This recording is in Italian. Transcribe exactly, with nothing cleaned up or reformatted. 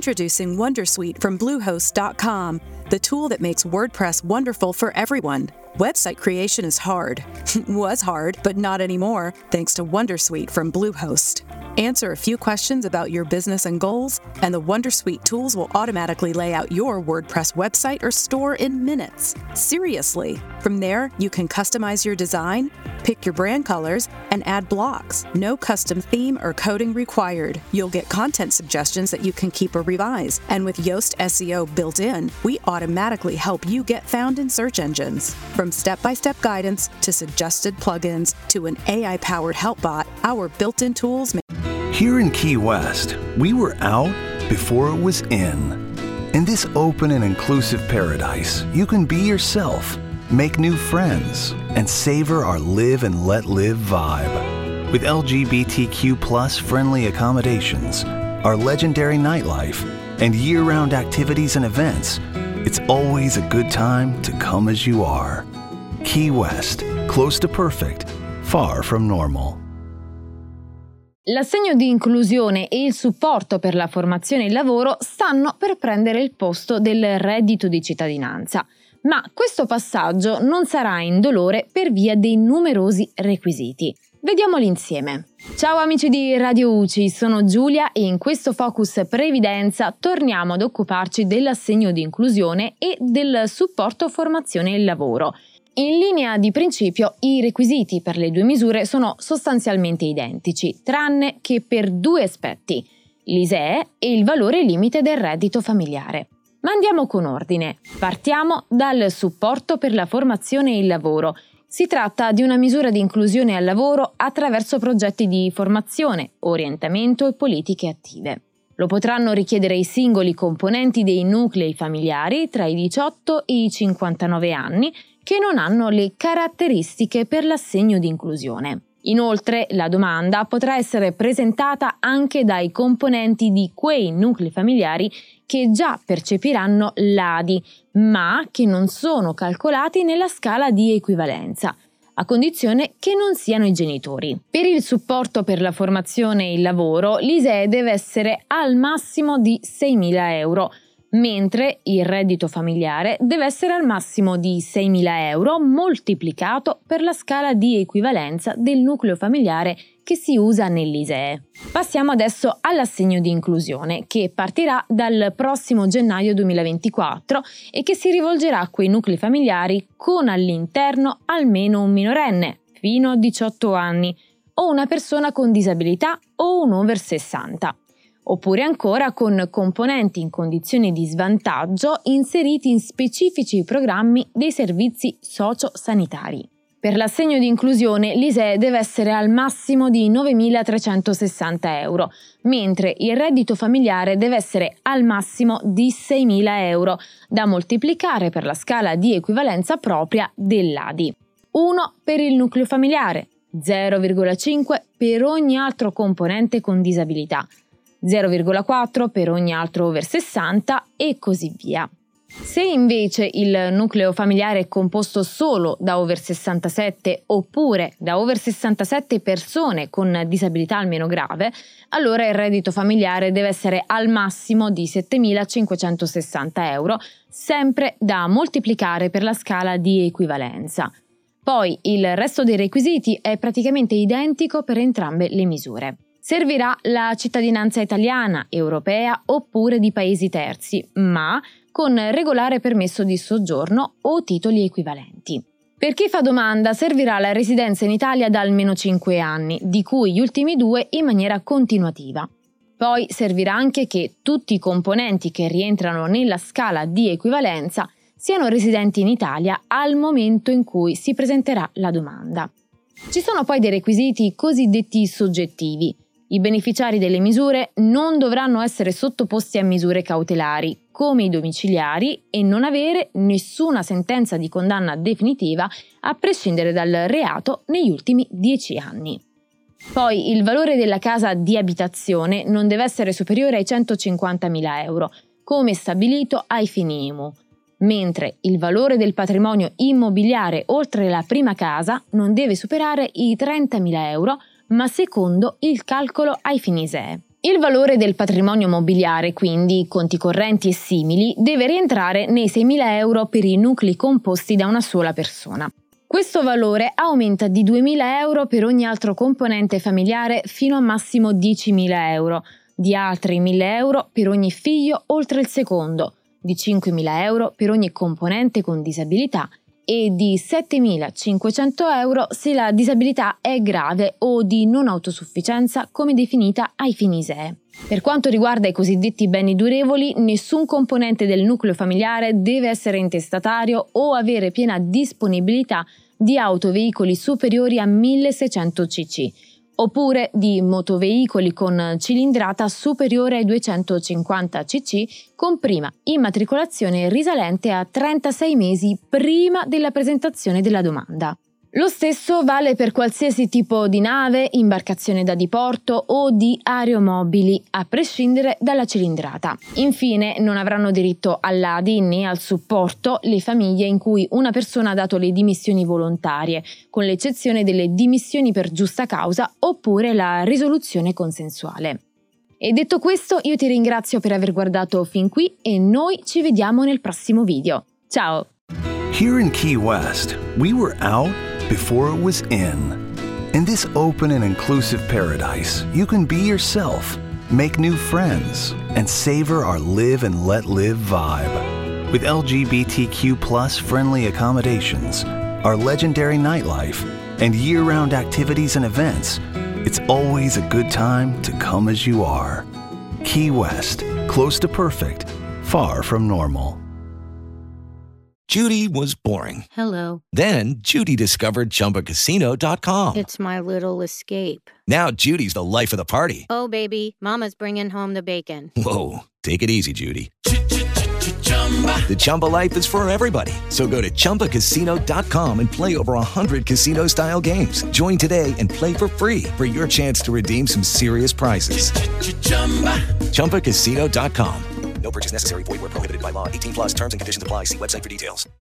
Introducing Wondersuite from Bluehost dot com, the tool that makes WordPress wonderful for everyone. Website creation is hard. Was hard, but not anymore, thanks to Wondersuite from Bluehost. Answer a few questions about your business and goals, and the Wondersuite tools will automatically lay out your WordPress website or store in minutes. Seriously. From there, you can customize your design, pick your brand colors, and add blocks. No custom theme or coding required. You'll get content suggestions that you can keep or revise. And with Yoast S E O built in, we automatically help you get found in search engines. From step-by-step guidance to suggested plugins to an A I-powered help bot, our built-in tools make Here in Key West, we were out before it was in. In this open and inclusive paradise, you can be yourself, make new friends, and savor our live and let live vibe. With L G B T Q plus friendly accommodations, our legendary nightlife, and year-round activities and events, it's always a good time to come as you are. Key West, close to perfect, far from normal. L'assegno di inclusione e il supporto per la formazione e il lavoro stanno per prendere il posto del reddito di cittadinanza, ma questo passaggio non sarà indolore per via dei numerosi requisiti. Vediamoli insieme. Ciao amici di Radio U C I, sono Giulia e in questo Focus Previdenza torniamo ad occuparci dell'assegno di inclusione e del supporto formazione e lavoro. In linea di principio, i requisiti per le due misure sono sostanzialmente identici, tranne che per due aspetti, l'I S E E e il valore limite del reddito familiare. Ma andiamo con ordine. Partiamo dal supporto per la formazione e il lavoro. Si tratta di una misura di inclusione al lavoro attraverso progetti di formazione, orientamento e politiche attive. Lo potranno richiedere i singoli componenti dei nuclei familiari tra i diciotto e i cinquantanove anni che non hanno le caratteristiche per l'assegno di inclusione. Inoltre, la domanda potrà essere presentata anche dai componenti di quei nuclei familiari che già percepiranno l'A D I, ma che non sono calcolati nella scala di equivalenza, a condizione che non siano i genitori. Per il supporto per la formazione e il lavoro, l'I S E E deve essere al massimo di seimila euro, mentre il reddito familiare deve essere al massimo di seimila euro moltiplicato per la scala di equivalenza del nucleo familiare che si usa nell'I S E E. Passiamo adesso all'assegno di inclusione, che partirà dal prossimo gennaio duemilaventiquattro e che si rivolgerà a quei nuclei familiari con all'interno almeno un minorenne, fino a diciotto anni, o una persona con disabilità o un over sessanta. Oppure ancora con componenti in condizioni di svantaggio inseriti in specifici programmi dei servizi socio-sanitari. Per l'assegno di inclusione l'I S E E deve essere al massimo di novemilatrecentosessanta euro, mentre il reddito familiare deve essere al massimo di seimila euro, da moltiplicare per la scala di equivalenza propria dell'A D I. uno per il nucleo familiare, zero virgola cinque per ogni altro componente con disabilità, zero virgola quattro per ogni altro over sessanta e così via. Se invece il nucleo familiare è composto solo da over sessantasette oppure da over sessantasette persone con disabilità almeno grave, allora il reddito familiare deve essere al massimo di settemilacinquecentosessanta euro, sempre da moltiplicare per la scala di equivalenza. Poi il resto dei requisiti è praticamente identico per entrambe le misure. Servirà la cittadinanza italiana, europea oppure di paesi terzi, ma con regolare permesso di soggiorno o titoli equivalenti. Per chi fa domanda servirà la residenza in Italia da almeno cinque anni, di cui gli ultimi due in maniera continuativa. Poi servirà anche che tutti i componenti che rientrano nella scala di equivalenza siano residenti in Italia al momento in cui si presenterà la domanda. Ci sono poi dei requisiti cosiddetti soggettivi. I beneficiari delle misure non dovranno essere sottoposti a misure cautelari, come i domiciliari, e non avere nessuna sentenza di condanna definitiva a prescindere dal reato negli ultimi dieci anni. Poi il valore della casa di abitazione non deve essere superiore ai centocinquantamila euro, come stabilito ai fini I M U, mentre il valore del patrimonio immobiliare oltre la prima casa non deve superare i trentamila euro, ma secondo il calcolo ai fini I S E E. Il valore del patrimonio mobiliare, quindi conti correnti e simili, deve rientrare nei seimila euro per i nuclei composti da una sola persona. Questo valore aumenta di duemila euro per ogni altro componente familiare fino a massimo diecimila euro, di altri mille euro per ogni figlio oltre il secondo, di cinquemila euro per ogni componente con disabilità e di settemilacinquecento euro se la disabilità è grave o di non autosufficienza come definita ai fini I S E E. Per quanto riguarda i cosiddetti beni durevoli, nessun componente del nucleo familiare deve essere intestatario o avere piena disponibilità di autoveicoli superiori a milleseicento cc, oppure di motoveicoli con cilindrata superiore ai duecentocinquanta cc con prima immatricolazione risalente a trentasei mesi prima della presentazione della domanda. Lo stesso vale per qualsiasi tipo di nave, imbarcazione da diporto o di aeromobili, a prescindere dalla cilindrata. Infine, non avranno diritto all'A D I né al supporto le famiglie in cui una persona ha dato le dimissioni volontarie, con l'eccezione delle dimissioni per giusta causa oppure la risoluzione consensuale. E detto questo, io ti ringrazio per aver guardato fin qui e noi ci vediamo nel prossimo video. Ciao! Here in Key West, we were out before it was in. In this open and inclusive paradise, you can be yourself, make new friends, and savor our live and let live vibe. With L G B T Q plus friendly accommodations, our legendary nightlife, and year-round activities and events, it's always a good time to come as you are. Key West, close to perfect, far from normal. Judy was boring. Hello. Then Judy discovered Chumba Casino dot com. It's my little escape. Now Judy's the life of the party. Oh, baby, mama's bringing home the bacon. Whoa, take it easy, Judy. The Chumba life is for everybody. So go to Chumba Casino dot com and play over one hundred casino-style games. Join today and play for free for your chance to redeem some serious prizes. Chumba Casino dot com. No purchase necessary. Void where prohibited by law. eighteen plus terms and conditions apply. See website for details.